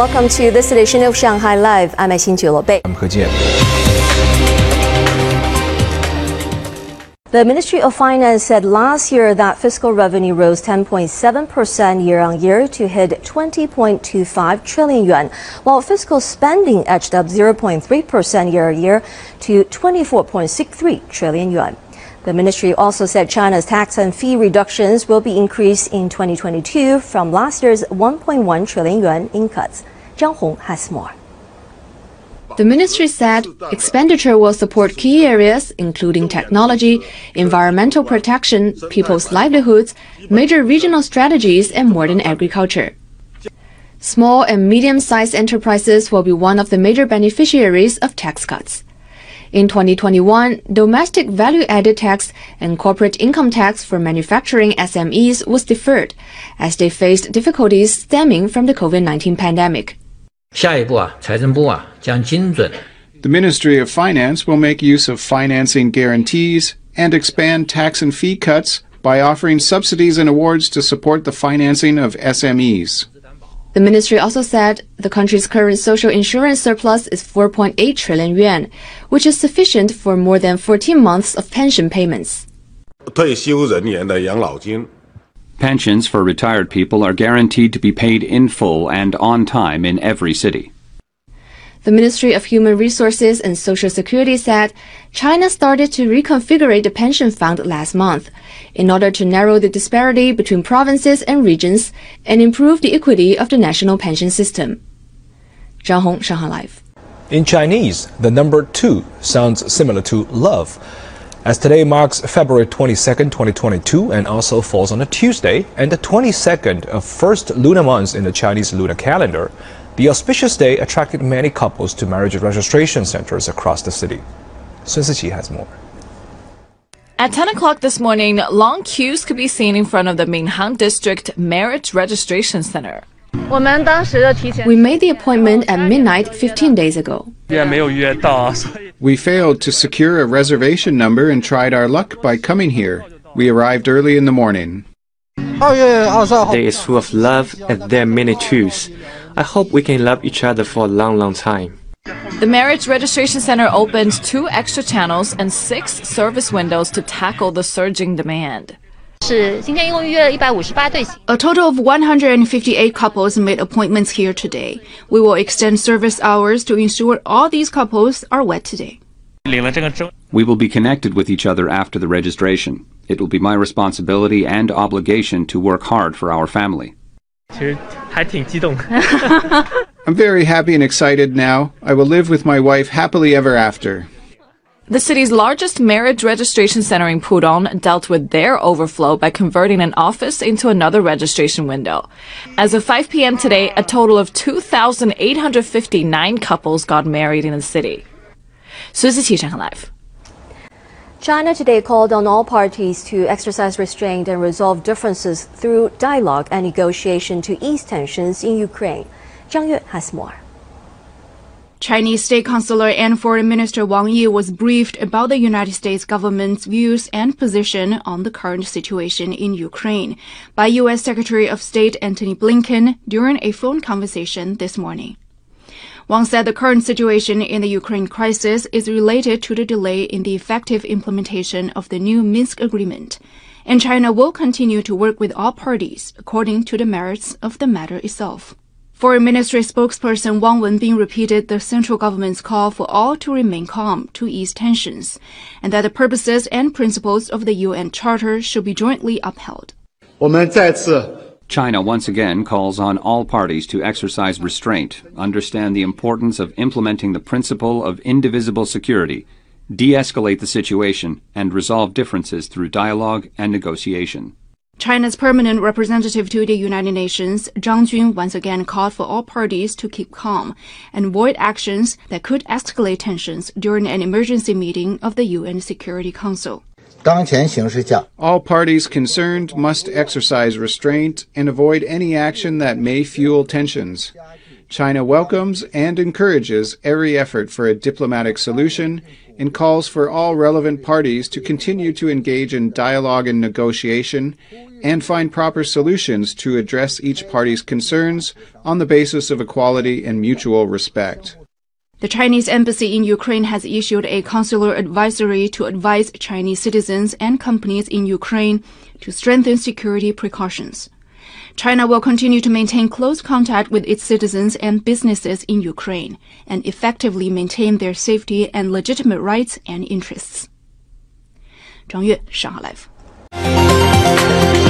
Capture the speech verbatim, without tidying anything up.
Welcome to this edition of Shanghai Live. I'm Xin Bei. I'm He Jian. The Ministry of Finance said last year that fiscal revenue rose ten point seven percent year-on-year to hit twenty point two five trillion yuan, while fiscal spending edged up zero point three percent year-on-year to twenty-four point six three trillion yuan. The ministry also said China's tax and fee reductions will be increased in twenty twenty-two from last year's one point one trillion yuan in cuts. Zhang Hong has more. The ministry said expenditure will support key areas including technology, environmental protection, people's livelihoods, major regional strategies, and modern agriculture. Small and medium-sized enterprises will be one of the major beneficiaries of tax cuts. In twenty twenty-one, domestic value-added tax and corporate income tax for manufacturing S M Es was deferred, as they faced difficulties stemming from the COVID nineteen pandemic. The Ministry of Finance will make use of financing guarantees and expand tax and fee cuts by offering subsidies and awards to support the financing of S M Es. The ministry also said the country's current social insurance surplus is four point eight trillion yuan, which is sufficient for more than fourteen months of pension payments. Pensions for retired people are guaranteed to be paid in full and on time in every city. The Ministry of Human Resources and Social Security said China started to reconfigure the pension fund last month in order to narrow the disparity between provinces and regions and improve the equity of the national pension system. Zhang Hong, Shanghai Live. In Chinese, the number two sounds similar to love. As today marks February twenty-second, twenty twenty-two, and also falls on a Tuesday, and the twenty-second of first lunar month in the Chinese lunar calendar, the auspicious day attracted many couples to marriage registration centers across the city. Sun Siqi has more. At ten o'clock this morning, long queues could be seen in front of the Minhang District Marriage Registration Center. We made the appointment at midnight fifteen days ago. We failed to secure a reservation number and tried our luck by coming here. We arrived early in the morning. Day is full of love and there are many truths. I hope we can love each other for a long, long time. The Marriage Registration Center opened two extra channels and six service windows to tackle the surging demand. A total of one hundred fifty-eight couples made appointments here today. We will extend service hours to ensure all these couples are wed today. We will be connected with each other after the registration. It will be my responsibility and obligation to work hard for our family. I'm very happy and excited now. I will live with my wife happily ever after. The city's largest marriage registration center in Pudong dealt with their overflow by converting an office into another registration window. As of five p m today, a total of two thousand eight hundred fifty-nine couples got married in the city. Sun Siqi, Shanghai Live. China today called on all parties to exercise restraint and resolve differences through dialogue and negotiation to ease tensions in Ukraine. Zhang Yue has more. Chinese State Councilor and Foreign Minister Wang Yi was briefed about the United States government's views and position on the current situation in Ukraine by U S Secretary of State Antony Blinken during a phone conversation this morning. Wang said the current situation in the Ukraine crisis is related to the delay in the effective implementation of the new Minsk agreement, and China will continue to work with all parties according to the merits of the matter itself. Foreign Ministry spokesperson Wang Wenbin repeated the central government's call for all to remain calm to ease tensions, and that the purposes and principles of the U N Charter should be jointly upheld. China once again calls on all parties to exercise restraint, understand the importance of implementing the principle of indivisible security, de-escalate the situation, and resolve differences through dialogue and negotiation. China's permanent representative to the United Nations, Zhang Jun, once again called for all parties to keep calm and avoid actions that could escalate tensions during an emergency meeting of the U N Security Council. All parties concerned must exercise restraint and avoid any action that may fuel tensions. China welcomes and encourages every effort for a diplomatic solution and calls for all relevant parties to continue to engage in dialogue and negotiation and find proper solutions to address each party's concerns on the basis of equality and mutual respect. The Chinese embassy in Ukraine has issued a consular advisory to advise Chinese citizens and companies in Ukraine to strengthen security precautions. China will continue to maintain close contact with its citizens and businesses in Ukraine and effectively maintain their safety and legitimate rights and interests. 张悦，上海 Live。